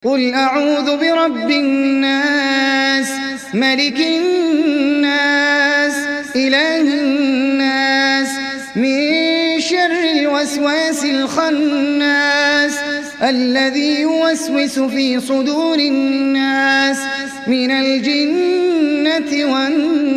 قل أعوذ برب الناس ملك الناس إله الناس من شر الوسواس الخناس الذي يوسوس في صدور الناس من الجنة والناس.